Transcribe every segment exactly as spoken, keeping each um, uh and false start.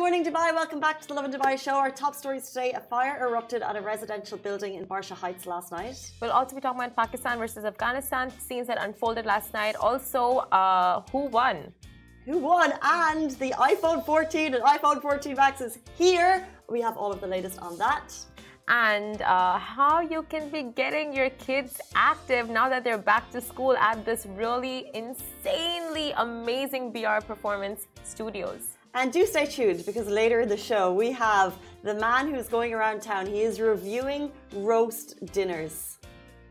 morning, Dubai. Welcome back to the Lovin Dubai show. Our top stories today: a fire erupted at a residential building in Barsha Heights last night. We'll also be talking about Pakistan versus Afghanistan, scenes that unfolded last night. Also, uh, who won? Who won? And the iPhone fourteen and iPhone fourteen Max is here. We have all of the latest on that. And uh, how you can be getting your kids active now that they're back to school at this really insanely amazing B R Performance Studios. And do stay tuned, because later in the show we have the man who's going around town. He is reviewing roast dinners.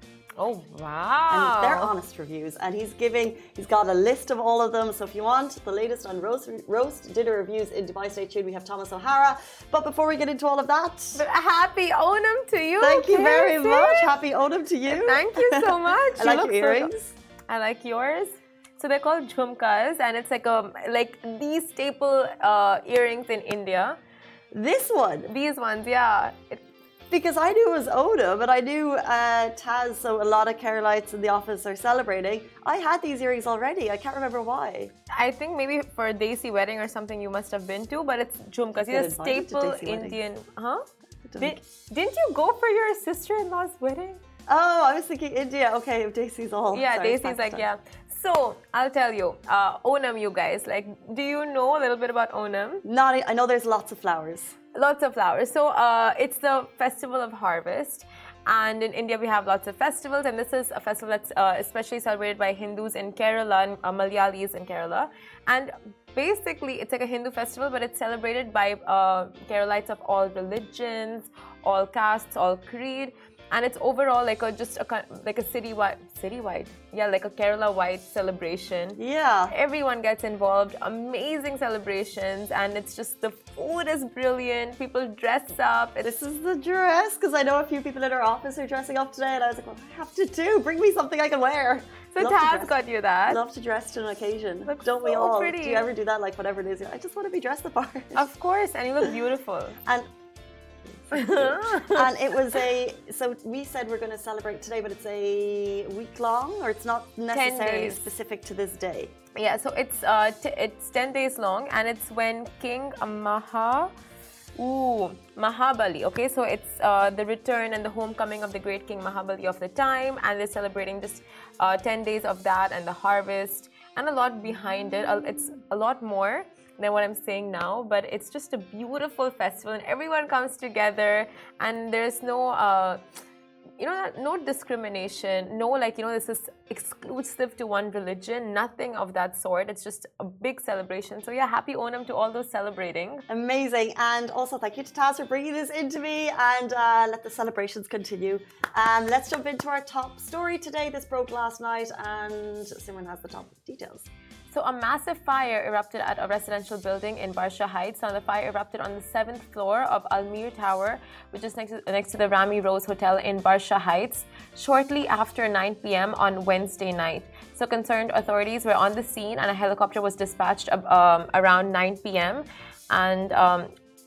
Oh, wow. And they're honest reviews. And he's giving, he's got a list of all of them. So if you want the latest on roast, roast dinner reviews in Dubai, stay tuned. We have Thomas O'Hara. But before we get into all of that, but happy Onam to you. Thank you very Kirsten. much. Happy Onam to you. Thank you so much. I like your earrings. So, I like yours. So they're called jhumkas, and it's like a like these staple uh, earrings in India. This one? These ones, yeah. It, Because I knew it was Onam, but I knew uh, Taz, so a lot of Keralites in the office are celebrating. I had these earrings already. I can't remember why. I think maybe for a Desi wedding or something you must have been to, but it's jhumkas. These are staple Indian. Huh? Did, didn't you go for your sister-in-law's wedding? Oh, I was thinking India. Okay, Desi's all. Yeah, Sorry, Desi's like, yeah. So, I'll tell you, uh, Onam, you guys, like, do you know a little bit about Onam? Not, I know there's lots of flowers. Lots of flowers. So, uh, it's the festival of harvest. And in India, we have lots of festivals. And this is a festival that's uh, especially celebrated by Hindus in Kerala and uh, Malayalis in Kerala. And basically, it's like a Hindu festival, but it's celebrated by uh, Keralites of all religions, all castes, all creed. And it's overall like a just a like a citywide, citywide, yeah, like a Kerala-wide celebration. Yeah. Everyone gets involved. Amazing celebrations, and it's just the food is brilliant. People dress up. It's, this is the dress, because I know a few people in our office are dressing up today, and I was like, well, I have to do. Bring me something I can wear. So Taz got you that. Love to dress to an occasion. Looks Don't we so all? Pretty. Do you ever do that? Like whatever it is, I just want to be dressed the part. Of course, and you look beautiful. And. And it was a, so we said we're going to celebrate today, but it's a week long, or it's not necessarily specific to this day. Yeah, so it's uh, t it's ten days long, and it's when King Maha, ooh, Mahabali, okay, so it's uh, the return and the homecoming of the great King Mahabali of the time, and they're celebrating just uh, ten days of that and the harvest, and a lot behind it. It's a lot more than what I'm saying now, but it's just a beautiful festival, and everyone comes together, and there's no uh, you know, no discrimination, no like, you know, this is exclusive to one religion, nothing of that sort. It's just a big celebration. So yeah, happy Onam to all those celebrating. Amazing. And also thank you to Taz for bringing this into me, and uh, let the celebrations continue. Um, let's jump into our top story today. This broke last night, and Simran has the top details. So a massive fire erupted at a residential building in Barsha Heights. Now the fire erupted on the seventh floor of Almir Tower, which is next to, next to the Rami Rose Hotel in Barsha Heights, shortly after nine p m on Wednesday night. So concerned authorities were on the scene, and a helicopter was dispatched um, around nine p m And um,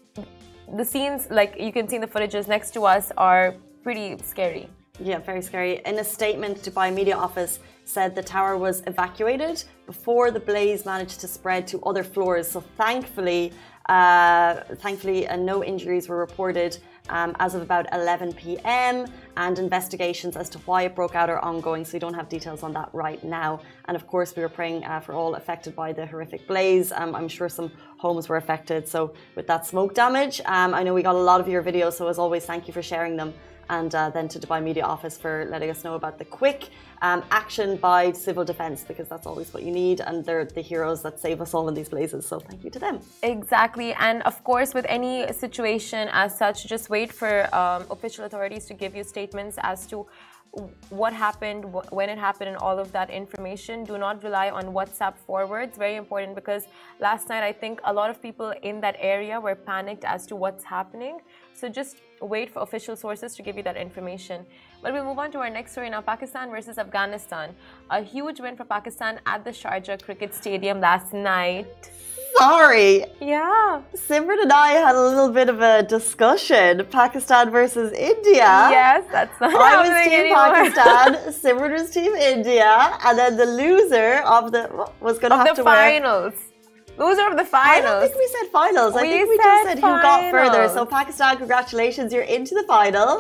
the scenes, like you can see in the footages next to us, are pretty scary. Yeah, very scary. In a statement, Dubai Media Office said the tower was evacuated before the blaze managed to spread to other floors. So thankfully, uh, thankfully, uh, no injuries were reported um, as of about eleven p m And investigations as to why it broke out are ongoing. So we don't have details on that right now. And of course, we were praying uh, for all affected by the horrific blaze. Um, I'm sure some homes were affected. So with that smoke damage, um, I know we got a lot of your videos. So as always, thank you for sharing them. And uh, then to Dubai Media Office for letting us know about the quick um, action by civil defence, because that's always what you need, and they're the heroes that save us all in these blazes, so thank you to them. Exactly. And of course, with any situation as such, just wait for um, official authorities to give you statements as to what happened, when it happened, and all of that information. Do not rely on WhatsApp forwards. Very important, because last night I think a lot of people in that area were panicked as to what's happening. So just wait for official sources to give you that information. But we move on to our next story now. Pakistan versus Afghanistan. A huge win for Pakistan at the Sharjah Cricket Stadium last night. Sorry. Yeah. Simran and I had a little bit of a discussion. Pakistan versus India. Yes, that's not I was team anymore. Pakistan, Simran was team India, and then the loser of the was going to have the to finals. wear Those are the finals. I don't think we said finals. I we think we said just said finals. who got further. So Pakistan, congratulations, you're into the final.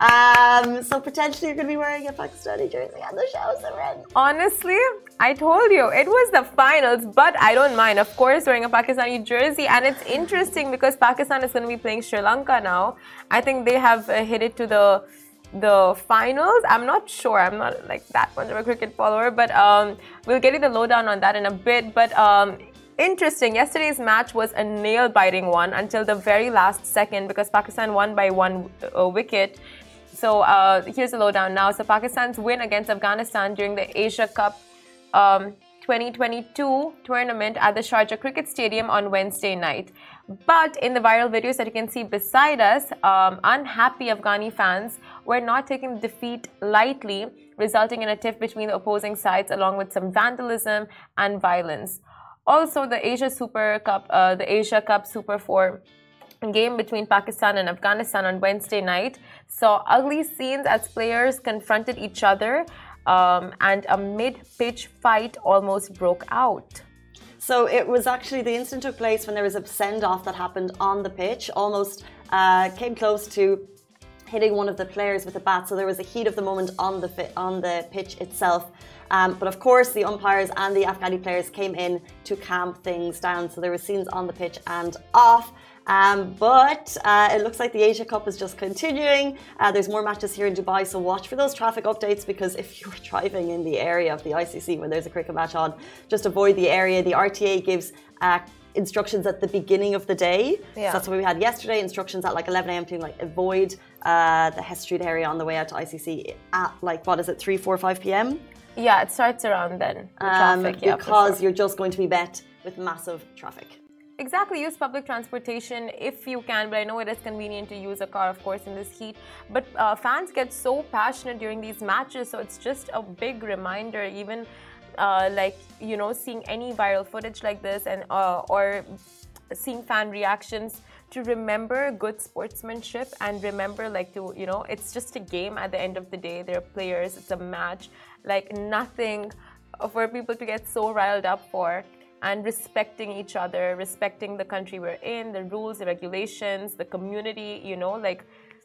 Um, so potentially you're going to be wearing a Pakistani jersey on the show, Simran. Honestly, I told you, it was the finals, but I don't mind, of course, wearing a Pakistani jersey. And it's interesting because Pakistan is going to be playing Sri Lanka now. I think they have uh, hit it to the the finals. I'm not sure. I'm not like that much of a cricket follower, but um, we'll get you the lowdown on that in a bit. But um, interesting, yesterday's match was a nail-biting one until the very last second because Pakistan won by one uh, wicket. So uh, here's the lowdown now. So Pakistan's win against Afghanistan during the Asia Cup um, twenty twenty-two tournament at the Sharjah Cricket Stadium on Wednesday night. But in the viral videos that you can see beside us, um, unhappy Afghani fans were not taking the defeat lightly, resulting in a tiff between the opposing sides along with some vandalism and violence. Also, the Asia Super Cup, uh, the Asia Cup Super four game between Pakistan and Afghanistan on Wednesday night saw ugly scenes as players confronted each other um, and a mid-pitch fight almost broke out. So it was actually, the incident took place when there was a send-off that happened on the pitch, almost uh, came close to hitting one of the players with a bat. So there was a heat of the moment on the fi- on the pitch itself. Um, but of course, the umpires and the Afghani players came in to calm things down. So there were scenes on the pitch and off. Um, but uh, it looks like the Asia Cup is just continuing. Uh, there's more matches here in Dubai, so watch for those traffic updates because if you're driving in the area of the I C C when there's a cricket match on, just avoid the area. The R T A gives uh, instructions at the beginning of the day. Yeah. So that's what we had yesterday, instructions at like eleven a m to like avoid uh, the Hess Street area on the way out to I C C at like, what is it, three, four, five p m? Yeah, it starts around then, the um, traffic, yeah, because sure. you're just going to be met with massive traffic. Exactly, use public transportation if you can, but I know it is convenient to use a car, of course, in this heat. But uh, fans get so passionate during these matches, so it's just a big reminder, even uh, like, you know, seeing any viral footage like this and uh, or seeing fan reactions, to remember good sportsmanship and remember like to, you know, it's just a game at the end of the day. They're players, it's a match, like nothing for people to get so riled up for. And respecting each other, respecting the country we're in, the rules, the regulations, the community, you know, like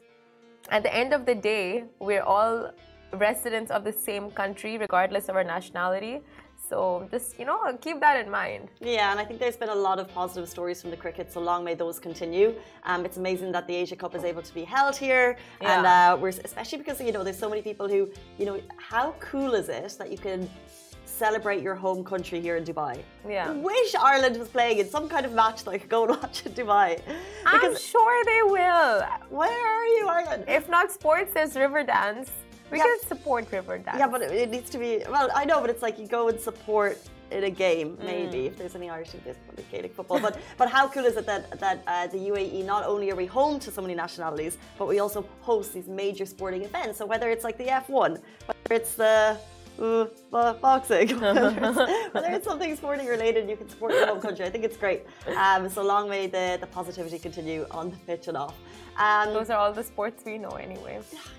at the end of the day, we're all residents of the same country, regardless of our nationality. So just, you know, keep that in mind. Yeah, and I think there's been a lot of positive stories from the cricket, so long may those continue. Um, it's amazing that the Asia Cup is able to be held here. Yeah. And uh, we're, especially because, you know, there's so many people who, you know, how cool is it that you can celebrate your home country here in Dubai? Yeah. I wish Ireland was playing in some kind of match that I could go and watch in Dubai. Because I'm sure they will. Where are you, Ireland? If not sports, there's river dance. We Yeah. can support river dance. Yeah, but it, it needs to be, well, I know, but it's like you go and support in a game, maybe, mm. if there's any Irish, there's probably Gaelic football. But but how cool is it that, that uh, the U A E, not only are we home to so many nationalities, but we also host these major sporting events. So whether it's like the F one, whether it's the Uh, boxing, whether, it's, whether it's something sporting related, you can support your home country. I think it's great. Um, so long may the, the positivity continue on the pitch and off. Um, Those are all the sports we know anyway.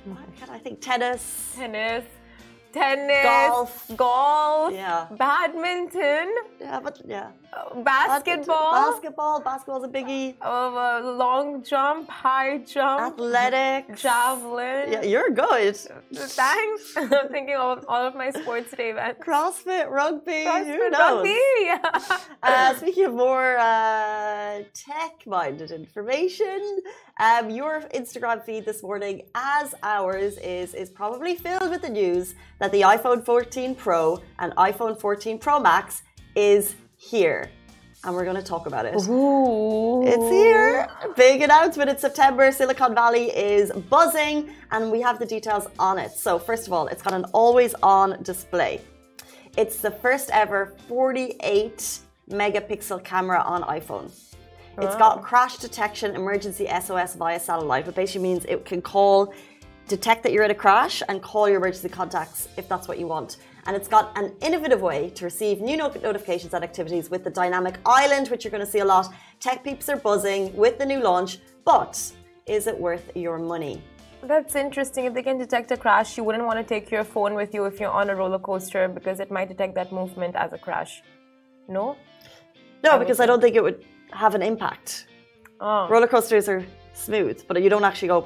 I think tennis. Tennis. Tennis. Golf. Golf. Yeah. Badminton. Yeah, but yeah. Uh, basketball. Basketball. Basketball's a biggie. Uh, long jump, high jump. Athletics. Javelin. Yeah, you're good. Thanks. I'm thinking of all of my sports today, man. CrossFit, rugby. CrossFit, who knows? rugby. Yeah. uh, speaking of more uh, tech-minded information, um, your Instagram feed this morning, as ours is, is probably filled with the news that the iPhone fourteen Pro and iPhone fourteen Pro Max is here. And we're going to talk about it. Ooh. It's here. Big announcement in September. Silicon Valley is buzzing and we have the details on it. So first of all, it's got an always-on display. It's the first ever forty-eight megapixel camera on iPhone. It's got crash detection, emergency S O S via satellite, which basically means it can call, detect that you're in a crash and call your emergency contacts if that's what you want. And it's got an innovative way to receive new not- notifications and activities with the dynamic island, which you're going to see a lot. Tech peeps are buzzing with the new launch, but is it worth your money? That's interesting. If they can detect a crash, you wouldn't want to take your phone with you if you're on a roller coaster because it might detect that movement as a crash. No? No, I because would I don't think it would have an impact. Oh. Roller coasters are smooth, but you don't actually go.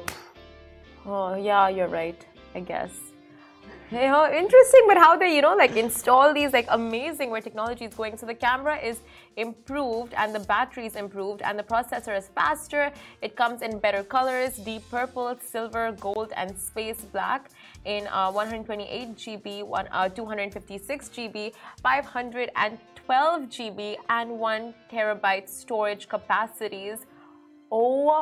Oh, yeah, you're right, I guess. You know, interesting, but how they, you know, like install these like amazing where technology is going. So the camera is improved and the battery is improved and the processor is faster. It comes in better colors, deep purple, silver, gold, and space black in uh, one hundred twenty-eight G B, one, uh, two hundred fifty-six G B, five hundred twelve G B, and one terabyte storage capacities. Oh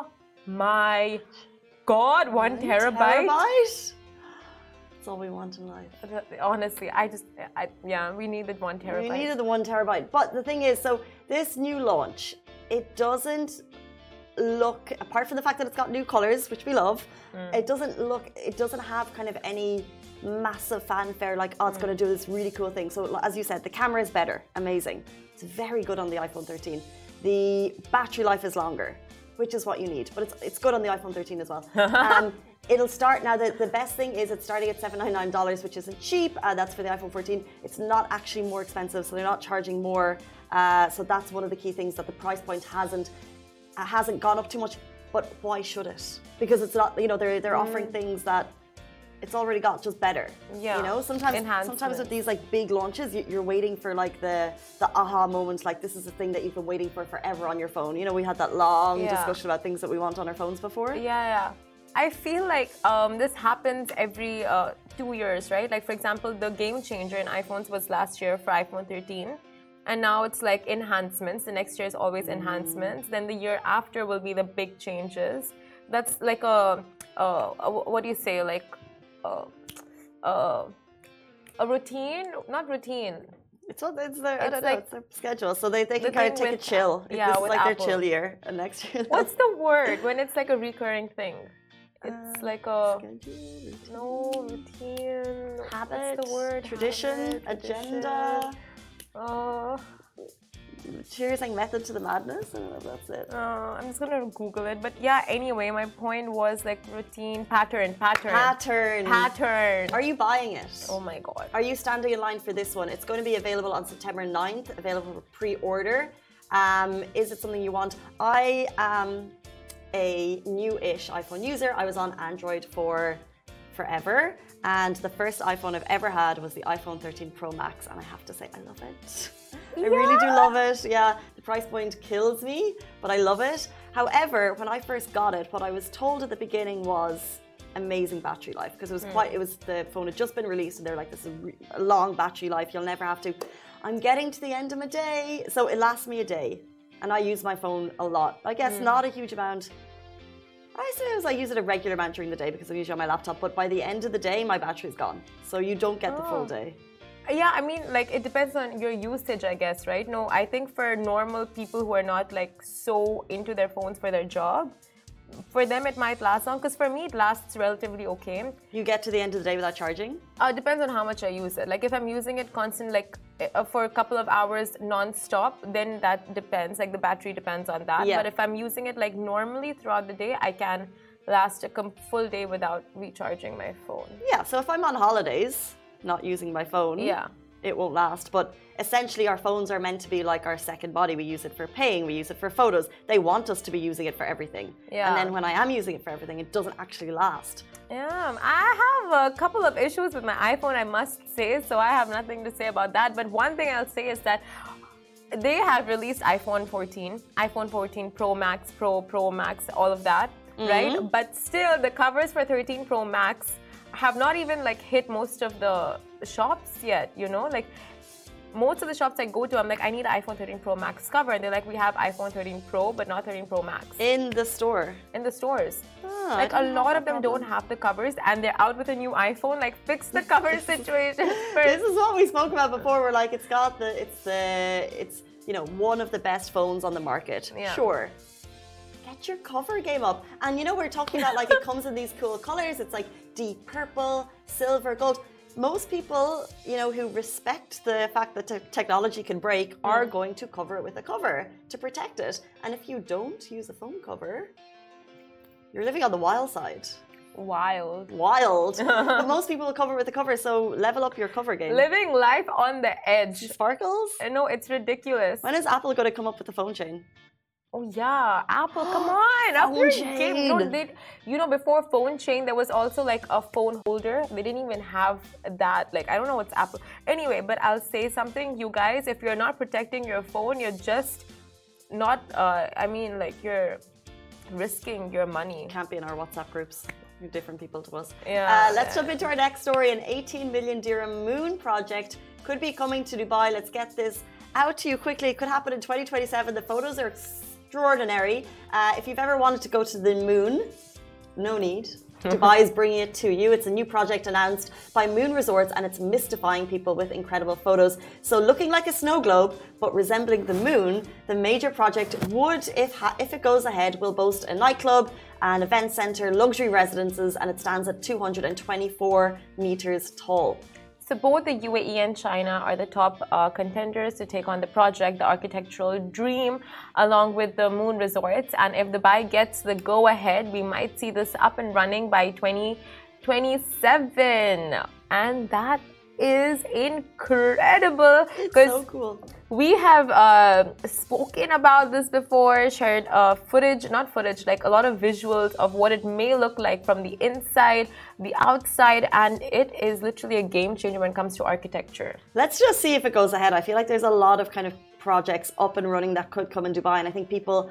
my God, one, one terabyte? terabyte? That's all we want in life. Honestly, I just, I, yeah, we needed one terabyte. We needed the one terabyte. But the thing is, so this new launch, it doesn't look, apart from the fact that it's got new colors, which we love, mm. it doesn't look, it doesn't have kind of any massive fanfare like, oh, it's mm. going to do this really cool thing. So as you said, the camera is better, amazing. It's very good on the iPhone thirteen. The battery life is longer, which is what you need, but it's it's good on the iPhone thirteen as well. um, it'll start now. The, the best thing is it's starting at seven hundred ninety-nine dollars, which isn't cheap. Uh, that's for the iPhone fourteen. It's not actually more expensive, so they're not charging more. Uh, so that's one of the key things, that the price point hasn't uh, hasn't gone up too much. But why should it? Because it's not. You know, they're they're offering mm. things that it's already got, just better. Yeah. You know, sometimes sometimes with these like big launches, you're waiting for like the the aha moment. Like, this is a thing that you've been waiting for forever on your phone. You know, we had that long yeah. discussion about things that we want on our phones before. Yeah, yeah. I feel like um, this happens every uh, two years, right? Like, for example, the game changer in iPhones was last year for iPhone thirteen. And now it's like enhancements. The next year is always enhancements. Mm. Then the year after will be the big changes. That's like a, a, a what do you say, like, Uh, uh, a routine, not routine. It's what it's their, it's I don't like, know, it's their schedule, so they, they can the kind of take a chill. Yeah, this is like Apple. their chill year, and next year. What's the word when it's like a recurring thing? It's uh, like a schedule, routine. No routine, habit, what's the word? Tradition, habit, agenda. Uh, Cheers, like method to the madness. I don't know if that's it. Uh, I'm just gonna Google it. But yeah, anyway, my point was like routine, pattern, pattern. Pattern. Pattern. Are you buying it? Oh my God. Are you standing in line for this one? It's going to be available on September ninth, available for pre-order. Um, is it something you want? I am a new-ish iPhone user. I was on Android for forever. And the first iPhone I've ever had was the iPhone thirteen Pro Max. And I have to say, I love it. I yeah. really do love it. Yeah, the price point kills me, but I love it. However, when I first got it, what I was told at the beginning was amazing battery life, because it was mm. quite, it was, the phone had just been released and they're like, this is a long battery life. You'll never have to. I'm getting to the end of my day. So it lasts me a day. And I use my phone a lot. I guess mm. not a huge amount. I suppose I use it a regular amount during the day because I'm usually on my laptop, but by the end of the day, my battery's gone. So you don't get oh. the full day. Yeah, I mean, like, it depends on your usage, I guess, right? No, I think for normal people who are not, like, so into their phones for their job, for them it might last long, because for me it lasts relatively okay. You get to the end of the day without charging? Uh, depends on how much I use it. Like, if I'm using it constant, like, uh, for a couple of hours non-stop, then that depends. Like, the battery depends on that. Yeah. But if I'm using it, like, normally throughout the day, I can last a full day without recharging my phone. Yeah, so if I'm on holidays, not using my phone, yeah, it won't last. But essentially our phones are meant to be like our second body. We use it for paying, we use it for photos. They want us to be using it for everything. Yeah. And then when I am using it for everything, it doesn't actually last. Yeah, I have a couple of issues with my iPhone, I must say, so I have nothing to say about that. But one thing I'll say is that they have released iPhone fourteen, iPhone fourteen Pro Max, Pro, Pro Max, all of that, mm-hmm. right? But still, the covers for thirteen Pro Max have not even like hit most of the shops yet, you know, like most of the shops I go to, I'm like, I need an iPhone thirteen Pro Max cover, and they're like, we have iPhone thirteen Pro but not thirteen Pro Max in the store. In the stores, oh, like a lot of them problem. don't have the covers, and they're out with a new iPhone. Like, fix the cover situation first. This is what we spoke about before. We're like, it's got the, it's the, it's you know, one of the best phones on the market. Yeah. Sure. Get your cover game up. And you know, we're talking about like it comes in these cool colors. It's like deep purple, silver, gold. Most people, you know, who respect the fact that te- technology can break mm. are going to cover it with a cover to protect it. And if you don't use a phone cover, you're living on the wild side. Wild. Wild. But most people will cover with the cover, so level up your cover game. Living life on the edge. Sparkles? No, it's ridiculous. When is Apple going to come up with the phone chain? Oh yeah, Apple, come on, up your game. No, they, you know, before phone chain, there was also like a phone holder. They didn't even have that. Like, I don't know what's Apple. Anyway, but I'll say something, you guys. If you're not protecting your phone, you're just not. Uh, I mean, like you're risking your money. Can't be in our WhatsApp groups. You're different people to us. Yeah. Uh, let's jump into our next story. An eighteen million dirham moon project could be coming to Dubai. Let's get this out to you quickly. It could happen in twenty twenty-seven. The photos are extraordinary. Uh, if you've ever wanted to go to the moon, no need. Dubai is bringing it to you. It's a new project announced by Moon Resorts, and it's mystifying people with incredible photos. So looking like a snow globe, but resembling the moon, the major project would, if, ha if it goes ahead, will boast a nightclub, an event center, luxury residences, and it stands at two hundred twenty-four meters tall. So both the U A E and China are the top uh, contenders to take on the project, the architectural dream, along with the Moon Resorts. And if Dubai gets the go-ahead, we might see this up and running by twenty twenty-seven. And that is incredible. It's so cool. We have uh, spoken about this before, shared uh, footage, not footage, like a lot of visuals of what it may look like from the inside, the outside, and it is literally a game changer when it comes to architecture. Let's just see if it goes ahead. I feel like there's a lot of kind of projects up and running that could come in Dubai, and I think people,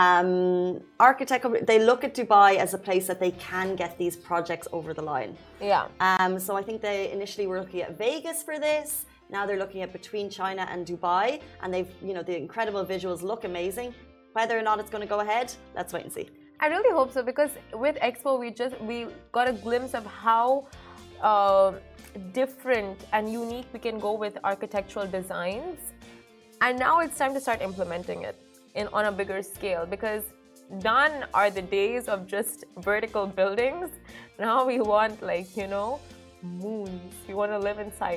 um, architect, they look at Dubai as a place that they can get these projects over the line. Yeah. Um, so I think they initially were looking at Vegas for this. Now they're looking at between China and Dubai, and they've, you know, the incredible visuals look amazing. Whether or not it's going to go ahead, let's wait and see. I really hope so, because with Expo, we just we got a glimpse of how uh, different and unique we can go with architectural designs, and now it's time to start implementing it in on a bigger scale, because done are the days of just vertical buildings. Now we want, like, you know, moons. We want to live inside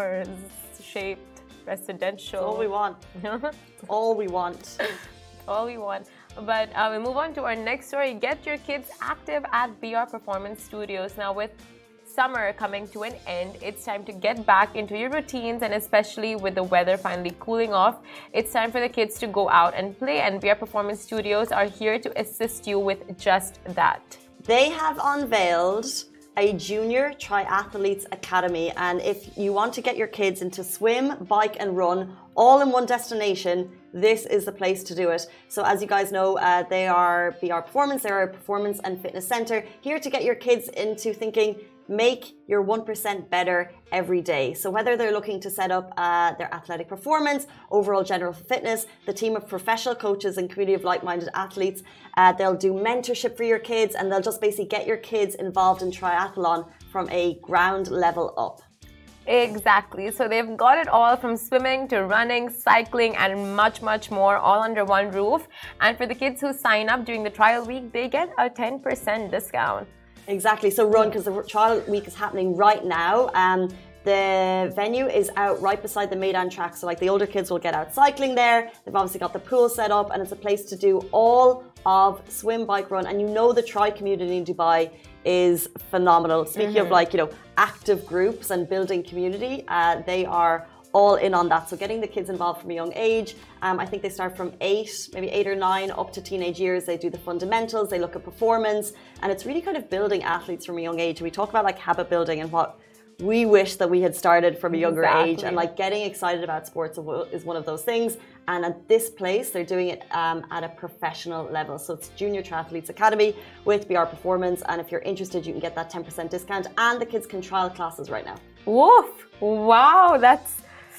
Mars-shaped residential. All we want. All we want. All we want. But uh, we move on to our next story. Get your kids active at B R Performance Studios. Now, with summer coming to an end, it's time to get back into your routines, and especially with the weather finally cooling off, it's time for the kids to go out and play, and B R Performance Studios are here to assist you with just that. They have unveiled a junior triathletes academy, and if you want to get your kids into swim, bike and run all in one destination, this is the place to do it. So as you guys know, uh, they are B R Performance, they're a performance and fitness center, here to get your kids into thinking, make your one percent better every day. So whether they're looking to set up uh, their athletic performance, overall general fitness, the team of professional coaches and community of like-minded athletes, uh, they'll do mentorship for your kids, and they'll just basically get your kids involved in triathlon from a ground level up. Exactly. So they've got it all, from swimming to running, cycling, and much, much more, all under one roof. And for the kids who sign up during the trial week, they get a ten percent discount. Exactly. So run, because the trial week is happening right now. Um, the venue is out right beside the Maidan track. So like the older kids will get out cycling there. They've obviously got the pool set up, and it's a place to do all of swim, bike, run. And you know the tri community in Dubai is phenomenal. Speaking mm-hmm. of like, you know, active groups and building community, uh, they are all in on that. So getting the kids involved from a young age. Um, I think they start from eight, maybe eight or nine up to teenage years. They do the fundamentals, they look at performance, and it's really kind of building athletes from a young age. We talk about like habit building and what we wish that we had started from a younger exactly. age, and like getting excited about sports is one of those things. And at this place, they're doing it um, at a professional level. So it's Junior Triathletes Academy with B R Performance. And if you're interested, you can get that ten percent discount, and the kids can trial classes right now. Woof! Wow, that's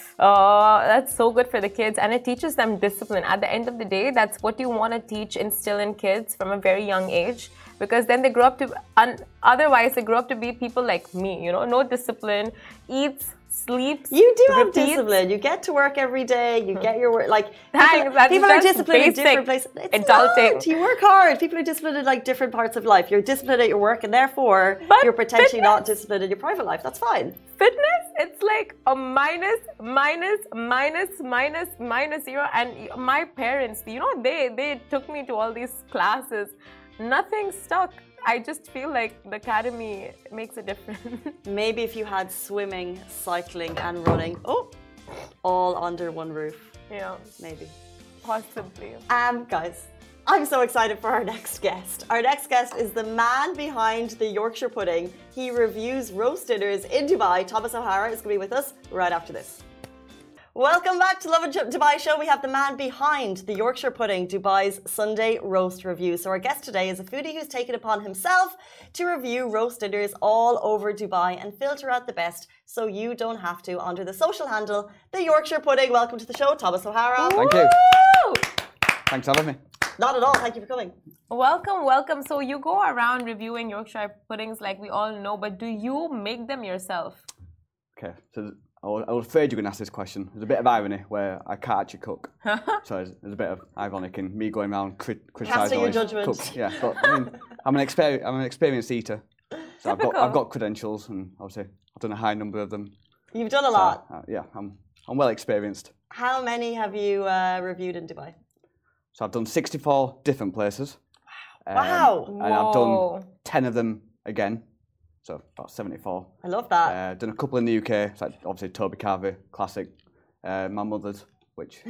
Oh, that's so good for the kids, and it teaches them discipline. At the end of the day, that's what you want to teach, instill in kids from a very young age, because then they grow up to, un, otherwise they grow up to be people like me, you know, no discipline, eats, sleeps, you do have repeats. Discipline. You get to work every day. You get your work. Like Thanks, people, people are disciplined in different places. It's adulting. Not. You work hard. People are disciplined in like different parts of life. You're disciplined at your work, and therefore but you're potentially fitness. not disciplined in your private life. That's fine. Fitness, it's like a minus, minus, minus, minus, minus zero. And my parents, you know, they they took me to all these classes. Nothing stuck. I just feel like the academy makes a difference. Maybe if you had swimming, cycling, and running, oh, all under one roof. Yeah, Maybe. possibly. Um, guys, I'm so excited for our next guest. Our next guest is the man behind the Yorkshire pudding. He reviews roast dinners in Dubai. Thomas O'Hara is going to be with us right after this. Welcome back to Love and Dubai Show. We have the man behind the Yorkshire pudding, Dubai's Sunday roast review. So our guest today is a foodie who's taken upon himself to review roast dinners all over Dubai and filter out the best so you don't have to under the social handle, the Yorkshire pudding. Welcome to the show, Thomas O'Hara. Thank you. Woo! Thanks for having me. Not at all. Thank you for coming. Welcome, welcome. So you go around reviewing Yorkshire puddings like we all know, but do you make them yourself? Okay, so I was, I was afraid you were going to ask this question. There's a bit of irony where I can't actually cook. So there's, there's a bit of ironic in me going around crit- criticising your all these judgment. cooks. Yeah, but I mean, I'm an, exper- I'm an experienced eater. So I've got, Typical. I've got credentials and obviously I've done a high number of them. You've done a So, lot. uh, yeah, I'm, I'm well experienced. How many have you uh, reviewed in Dubai? So I've done sixty-four different places. Um, Wow. And I've Whoa. done ten of them again. So about seventy-four. I love that. Uh, done a couple in the U K, so like obviously Toby Carvey, classic. Uh, my mother's, which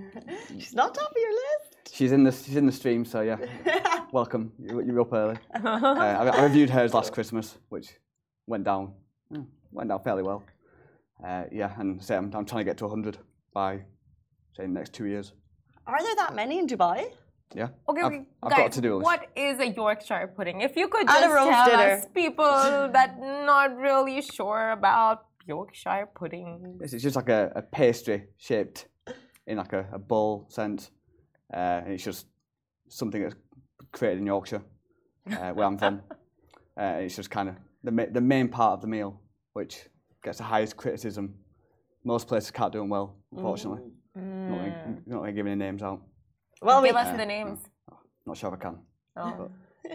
She's not top of your list. she's in the she's in the stream, so yeah, welcome. You, you're up early. Uh, I, I reviewed hers last Christmas, which went down hmm, went down fairly well. Uh, yeah, and say I'm, I'm trying to get to one hundred by say the next two years. Are there that many in Dubai? Yeah. Okay, I've, we- I've guys, got to do this. what is a Yorkshire pudding? If you could And a just roast tell dinner. us, people that not really sure about Yorkshire pudding. It's it's just like a, a pastry shaped in like a, a bowl sense, uh, and it's just something that's created in Yorkshire, uh, where I'm from. Uh, it's just kind of the ma- the main part of the meal, which gets the highest criticism. Most places can't do them well, unfortunately. Mm. Not, gonna, not gonna give any names out. Well, we, Give us the names. Not sure if I can. Oh.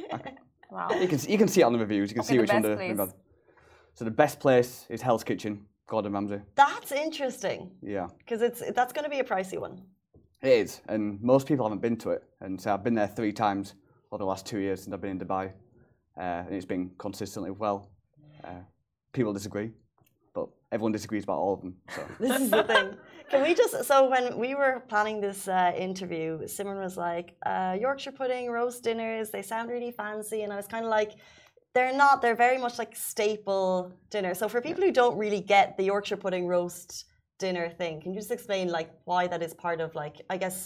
Wow. You can you can see it on the reviews. You can Okay, see the which one best the, place. the So the best place is Hell's Kitchen, Gordon Ramsay. that's interesting Yeah. because it's that's going to be a pricey one. It is, and most people haven't been to it. And so I've been there three times over the last two years since I've been in Dubai, uh, and it's been consistently well. Uh, people disagree, but everyone disagrees about all of them. So This is the thing. Can we just so when we were planning this uh, interview, Simran was like, uh, Yorkshire pudding, roast dinners, they sound really fancy, and I was kind of like, they're not. They're very much like staple dinner. So for people who don't really get the Yorkshire pudding roast dinner thing, can you just explain like why that is part of like I guess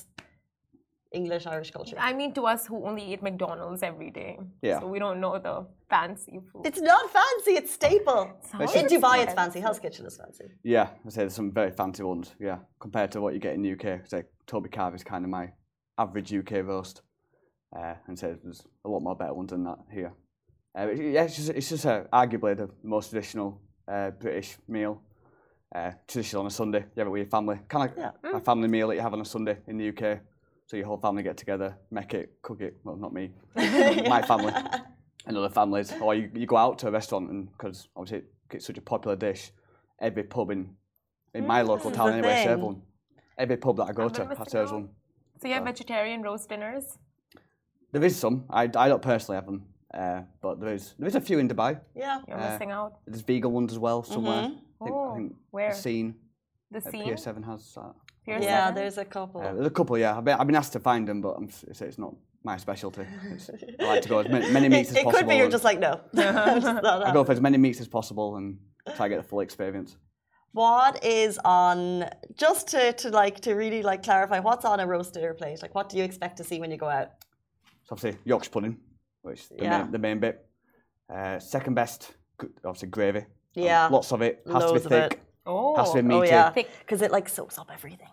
English Irish culture? I mean, to us who only eat McDonald's every day, Yeah. so we don't know the fancy food. It's not fancy. It's staple. Sounds In Dubai, it's expensive. fancy. Hell's Kitchen is fancy. yeah, I say there's some very fancy ones. Yeah, compared to what you get in the U K. Say Toby Carvey is kind of my average U K roast, uh, and say there's a lot more better ones than that here. Uh, but yeah, it's just, it's just uh, arguably the most traditional uh, British meal. Uh, traditional on a Sunday, you have it with your family. Kind of like Yeah. a family meal that you have on a Sunday in the U K. So your whole family get together, make it, cook it. Well, not me, my family and other families. Or you, you go out to a restaurant, and because obviously it's such a popular dish, every pub in in my local is town the anyway serve thing. one. Every pub that I go I'm to gonna miss serves out. one. So you have vegetarian roast dinners? There is some. I, I don't personally have them, uh, but there is there is a few in Dubai. Yeah. You're Uh, missing out. There's vegan ones as well somewhere. I think, Oh, I think where? The Scene The at scene? Pier Seven has that. Pier Yeah, seven? there's a couple. Uh, there's a couple, yeah. I've been, I've been asked to find them, but I'm, s- it's, it's not my specialty. It's, I like to go as many, many meats it, as it possible. could be you're and just like no. Just not I go happening. for as many meats as possible and try to get the full experience. What is on just to, to like to really like clarify what's on a roast dinner plate? Like what do you expect to see when you go out? So obviously Yorkshire pudding, which is the, Yeah. main, the main bit. Uh, second best, g- obviously gravy. Yeah. Um, lots of it. Has Loads to of be it. thick. Oh. Has to be Oh meaty. yeah, Thick. because it like soaks up everything.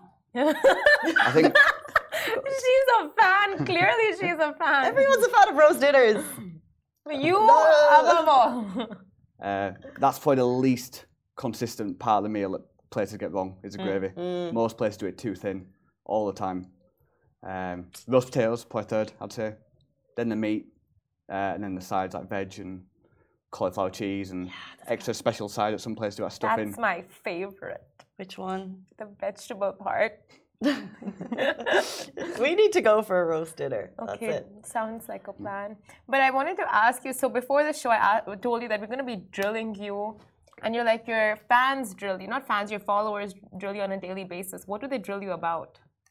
I think She's a fan. Clearly, she's a fan. Everyone's a fan of roast dinners. You above all. uh, that's probably the least consistent part of the meal that places get wrong is the Mm. gravy. Most places do it too thin all the time. Um, roast potatoes, probably third, I'd say. Then the meat, uh, and then the sides like veg and cauliflower cheese and extra special side that some places do, like stuffing. That's my favorite. Which one? The vegetable part. We need to go for a roast dinner. That's Okay, it. sounds like a plan. But I wanted to ask you, so before the show, I a- told you that we're going to be drilling you. And you're like, your fans drill you. Not fans, your followers drill you on a daily basis. What do they drill you about?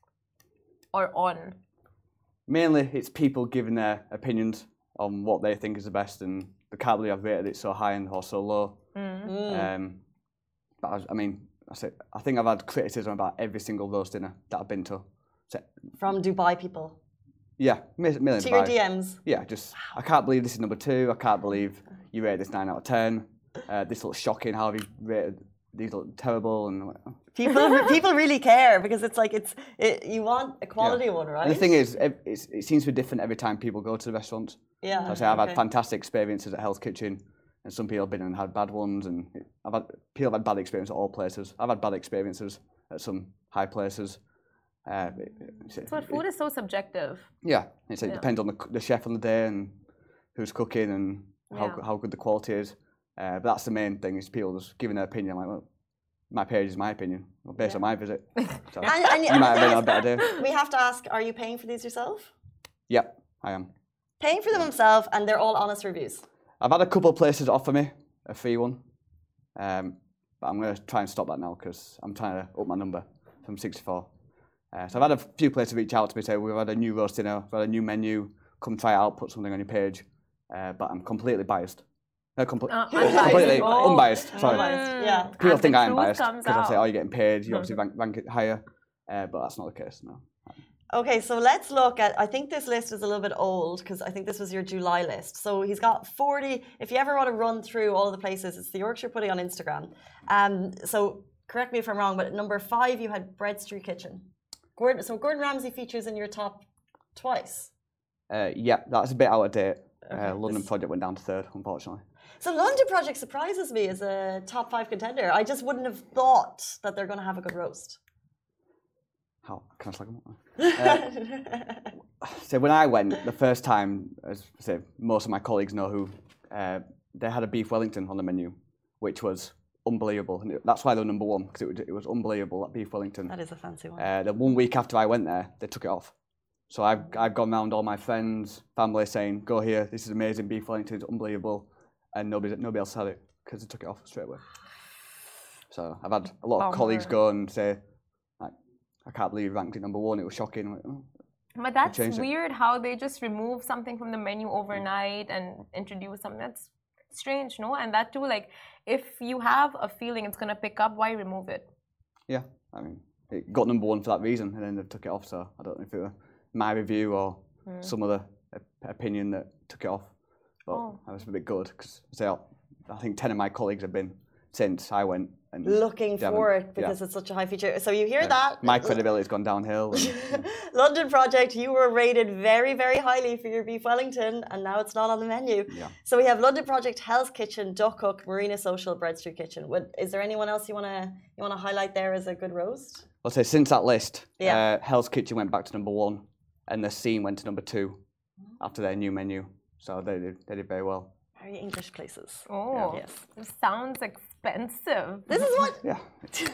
Or on? Mainly, it's people giving their opinions on what they think is the best, and they can't believe I've rated it so high and or so low. Mm. Um, but I, I mean, I say I think I've had criticism about every single roast dinner that I've been to. So, From Dubai people. yeah, million To your D Ms. Yeah, just I can't believe this is number two. I can't believe you rated this nine out of ten. Uh, this looks shocking. How have you rated? These look terrible. And I'm like, oh. People, people really care because it's like it's it, you want a quality Yeah. one, right? And the thing is, it, it's, it seems to be different every time people go to the restaurant. Yeah. So I say I've okay. had fantastic experiences at Hell's Kitchen, and some people have been and had bad ones, and I've had people have had bad experiences at all places. I've had bad experiences at some high places. Uh, it, it's, But food is so subjective. yeah, it's, it Yeah. depends on the, the chef on the day and who's cooking and how Yeah. how good the quality is. Uh, but that's the main thing is people just giving their opinion. Like, well, my page is my opinion, well, based Yeah. on my visit. So And, and, you might have been on a better day. we have to ask: are you paying for these yourself? Yep, I am. Paying for them himself, and they're all honest reviews. I've had a couple of places offer me a free one, um, but I'm going to try and stop that now because I'm trying to up my number from sixty-four. Uh, so I've had a few places reach out to me say we've had a new roast dinner, we've had a new menu, come try it out, put something on your page. Uh, but I'm completely biased. No, comple- Uh, unbiased. completely Oh. unbiased. Sorry. Unbiased, yeah. People And think the I'm truth biased comes because I say, out. "Oh, you're getting paid. You obviously rank, rank it higher," uh, but that's not the case. No. Okay, so let's look at. I think this list is a little bit old because I think this was your July list. So he's got forty. If you ever want to run through all the places, it's the Yorkshire Pudding on Instagram. Um, so correct me if I'm wrong, but at number five you had Bread Street Kitchen. Gordon, so Gordon Ramsay features in your top twice. Uh, yeah, that's a bit out of date. Okay, Uh, London this- Project went down to third, unfortunately. So London Project surprises me as a top five contender. I just wouldn't have thought that they're going to have a good roast. How can I slag them up? Uh, so when I went the first time, as I say, most of my colleagues know who, uh, they had a beef Wellington on the menu, which was unbelievable. And it- that's why they were number one, because it, was- it was unbelievable, that beef Wellington. That is a fancy one. Uh, the one week after I went there, they took it off. So I've, I've gone round all my friends, family saying, go here, this is amazing, beef Wellington, it's unbelievable. And nobody, nobody else had it because they took it off straight away. So I've had a lot of Bummer. colleagues go and say, like, I can't believe you ranked it number one, it was shocking. I'm like, oh. But that's changed it. weird how they just remove something from the menu overnight and introduce something. That's strange, no? And that too, like, if you have a feeling it's going to pick up, why remove it? Yeah, I mean, it got number one for that reason, and then they took it off. So I don't know if it was my review or Hmm. some other op- opinion that took it off. But Oh. I was a bit good because I think ten of my colleagues have been since I went. And Looking they haven't- for it because yeah. it's such a high feature. So you hear Yeah. that? My credibility's gone downhill. And, London Project, you were rated very, very highly for your beef Wellington, and now it's not on the menu. Yeah. So we have London Project, Hell's Kitchen, Duck Hook, Marina Social, Bread Street Kitchen. Would, is there anyone else you wanna you wanna highlight there as a good roast? I'll say since that list, Yeah. uh, Hell's Kitchen went back to number one, and The Scene went to number two after their new menu. So they did, they did very well. Very English places. Oh, Yes. this sounds expensive. This is what. Yeah.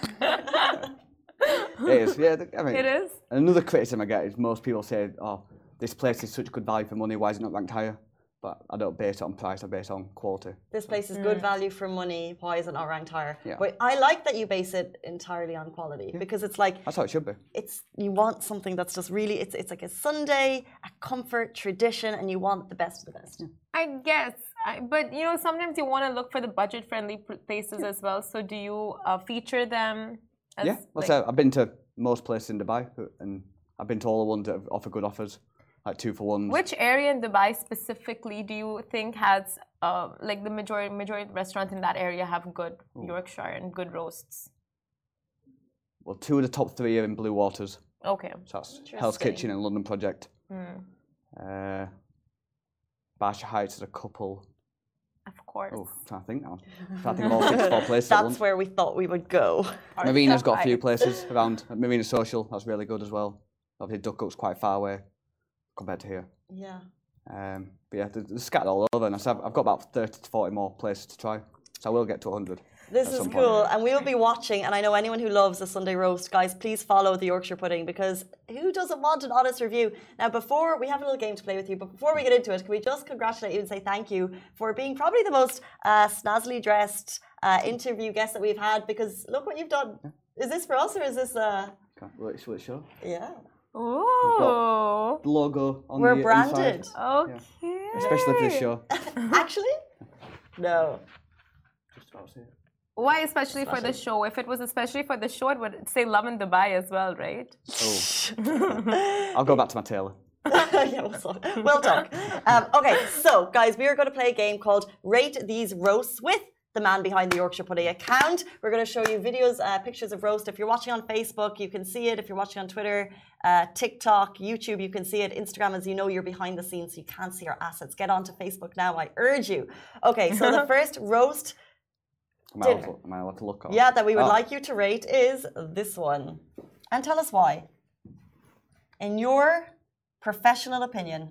It is. Yeah, I mean, It is? Another criticism I get is most people say, "Oh, this place is such good value for money. Why is it not ranked higher?" But I don't base it on price. I base it on quality. This place is good value for money. Why is it not ranked higher? Yeah. But I like that you base it entirely on quality because it's like That's how it should be. it's you want something that's just really it's it's like a Sunday, a comfort tradition, and you want the best of the best. I guess. I, but, you know, sometimes you want to look for the budget-friendly pl- places as well. So do you uh, feature them? As, Yeah. Well, like, so I've been to most places in Dubai, and I've been to all the ones that have offer good offers, like two for ones. which area in Dubai specifically do you think has, uh, like, the majority majority of restaurants in that area have good Yorkshire and good roasts? Well, two of the top three are in Blue Waters. Okay. So that's Hell's Interesting. Kitchen and London Project. Hmm. Uh, Barsha Heights is a couple. Of course. Oh, I'm trying to think now. I'm trying to think of all sixty-four places. at That's once. where we thought we would go. Marina's got a few Right. places around. Marina Social, that's really good as well. Obviously, Duck Hook's quite far away compared to here. Yeah. Um, but yeah, they're, they're scattered all over, and I said I've got about thirty to forty more places to try. So I will get to one hundred. This is cool, and we will be watching. And I know anyone who loves a Sunday roast, guys, please follow the Yorkshire pudding, because who doesn't want an honest review? Now, before we have a little game to play with you, but before we get into it, can we just congratulate you and say thank you for being probably the most uh, snazzily dressed uh, interview guest that we've had? Because look what you've done. Is this for us or is this? Uh... Will it, will it show? Yeah. Oh. The logo on We're the branded. Inside. Okay. Yeah. Especially for this show. Actually, no. Just about to see it. Why especially for the show? If it was especially for the show, it would say Love in Dubai as well, right? Oh. I'll go back to my tailor. Yeah, we'll talk. We'll talk. Um, okay, so guys, we are going to play a game called Rate These Roasts with the man behind the Yorkshire Pudding account. We're going to show you videos, uh, pictures of roast. If you're watching on Facebook, you can see it. If you're watching on Twitter, uh, TikTok, YouTube, you can see it. Instagram, as you know, you're behind the scenes, so you can't see our assets. Get onto Facebook now, I urge you. Okay, so the first roast Am I, allowed, am I allowed to look on? yeah, that we would oh. like you to rate is this one. And tell us why. In your professional opinion.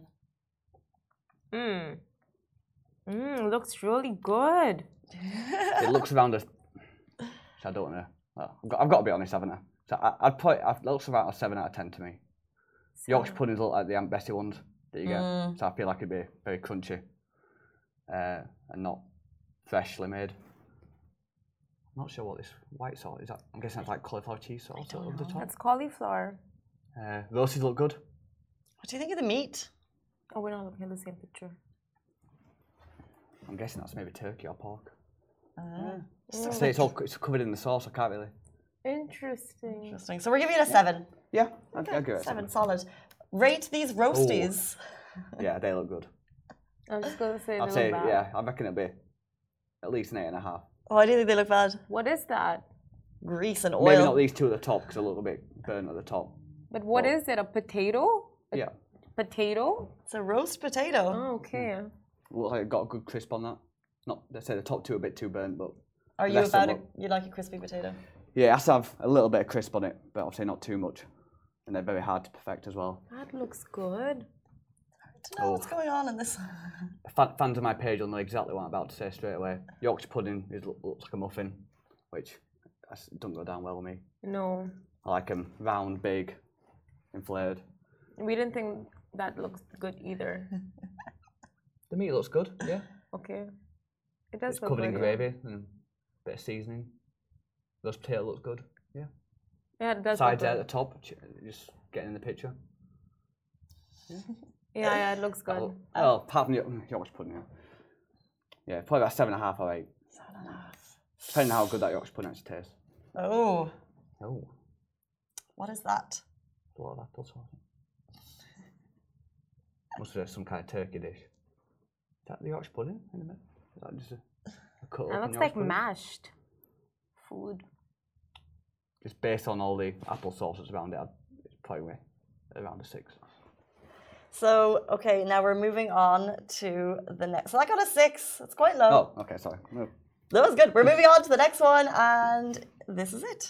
Mmm. Mmm, looks really good. It looks around a... I don't know. Well, I've, got, I've got to be honest, haven't I? So I, I'd put it looks around a seven out of ten to me. So. Yorkshire puddings look like the Aunt Bessie ones that you get. Mm. So I feel like it'd be very crunchy uh, and not freshly made. I'm not sure what this white sauce is. That, I'm guessing that's like cauliflower cheese sauce over the top. It's cauliflower. Uh, roasties look good. What do you think of the meat? Oh, we're not looking at the same picture. I'm guessing that's maybe turkey or pork. Uh, yeah. So it's all it's covered in the sauce. I can't really. Interesting. Interesting. So we're giving it a seven. Yeah, I'd, okay. I'd give it a seven. seven. Solid. Rate these roasties. Oh. Yeah, they look good. I'm just gonna say. I'd say bad. yeah. I reckon it'd be at least an eight and a half. Oh, I do think they look bad. What is that? Grease and oil. Maybe not these two at the top because they're a little bit burnt at the top. But what oh. is it? A potato? A yeah. Potato? It's a roast potato. Oh, okay. Mm. Looks like it got a good crisp on that. Not, let's say the top two are a bit too burnt, but. Are you about it? You like a crispy potato? Yeah, it has to have a little bit of crisp on it, but obviously not too much. And they're very hard to perfect as well. That looks good. I don't know oh. what's going on in this. Fans of my page will know exactly what I'm about to say straight away. Yorkshire pudding is, looks like a muffin, which doesn't go down well with me. No. I like them round, big, inflated. We didn't think that looks good either. The meat looks good, yeah. Okay. It does it's look covered good, in gravy yeah. and a bit of seasoning. Roast potato looks good, yeah. Yeah, it does. Sides at the top, just getting in the picture. Yeah. Yeah, yeah, it looks good. Oh, apart from the Yorkshire pudding, yeah. Yeah, probably about seven and a half or eight. Seven and a half. Depending on how good that Yorkshire pudding actually tastes. Oh. Oh. What is that? A lot of apple sauce. Must be some kind of turkey dish. Is that the Yorkshire pudding in a minute? Is that just a, a cut It looks like pudding? mashed food. Just based on all the apple sauces around it, it's probably around a six. So, okay, now we're moving on to the next. So I got a six. It's quite low. Oh, okay, sorry. No. That was good. We're moving on to the next one, and this is it.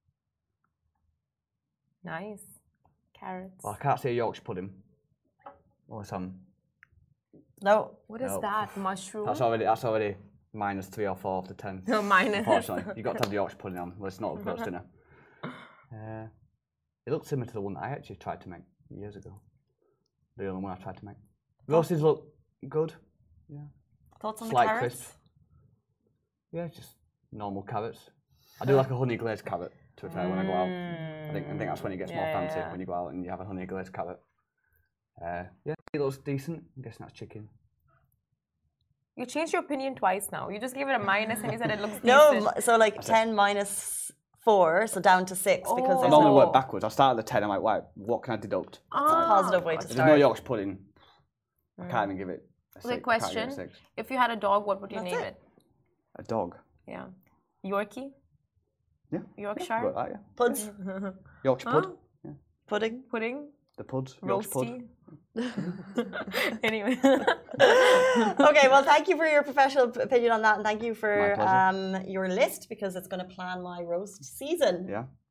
Nice. Carrots. Well, I can't say Yorkshire pudding. Or some. No. What is no. that? Mushroom? That's already that's already minus three or four of the ten. No, minus. Unfortunately, you've got to have the Yorkshire pudding on. Well, it's not a roast dinner. Uh, it looks similar to the one that I actually tried to make years ago. The only one I tried to make. Roasties look good. Yeah. Thoughts on Slight the carrots? Crisp. Yeah, just normal carrots. I do like a honey glazed carrot, to be fair, when I go out. I think, I think that's when it gets yeah, more fancy, yeah. when you go out and you have a honey glazed carrot. Uh, yeah, it looks decent. I'm guessing that's chicken. You changed your opinion twice now. You just gave it a minus and you said it looks decent. No, so like that's ten it. minus four, so down to six oh. because I there's normally no... work backwards. I start at the ten, I'm like, wow, what can I deduct? Ah, it's a positive way to There's start. no Yorkshire pudding. Mm. I can't even give it a six. Okay, question. A six. If you had a dog, what would you That's name it. it? A dog? Yeah. Yorkie? Yeah. Yorkshire? Yeah, that, yeah. Puds? Yeah. Yorkshire pud? Huh? Yeah. Pudding? Pudding? The puds? Yorkshire Roasty? pud? Anyway. Okay, well, thank you for your professional opinion on that, and thank you for My pleasure. um, your list, because it's going to plan my roast season. Yeah, good.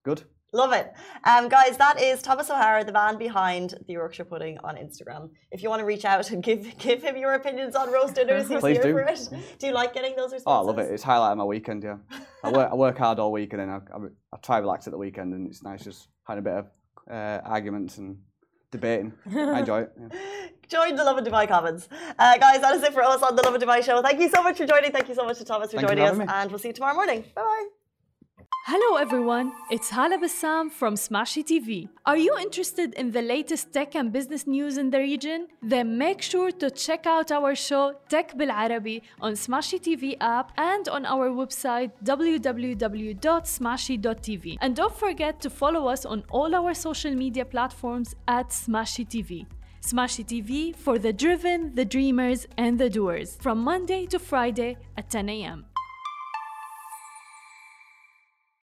Love it. Um, guys, that is Thomas O'Hara, the man behind the Yorkshire Pudding on Instagram. If you want to reach out and give give him your opinions on roast dinners, he's Please here do. for it. Do you like getting those responses? Oh, I love it. It's highlighting my weekend, yeah. I work, I work hard all week and then I, I, I try to relax at the weekend and it's nice just having a bit of uh, arguments and debating. I enjoy it. Yeah. Join the Lovin Dubai comments. Uh, guys, that is it for us on the Lovin Dubai show. Thank you so much for joining. Thank you so much to Thomas for Thank joining you us. for having me. And we'll see you tomorrow morning. Bye-bye. Hello everyone, it's Hala Bassam from Smashy T V. Are you interested in the latest tech and business news in the region? Then make sure to check out our show Tech Bil Arabi on Smashy T V app and on our website w w w dot smashy dot t v. And don't forget to follow us on all our social media platforms at Smashy T V. Smashy T V for the driven, the dreamers and the doers from Monday to Friday at ten a m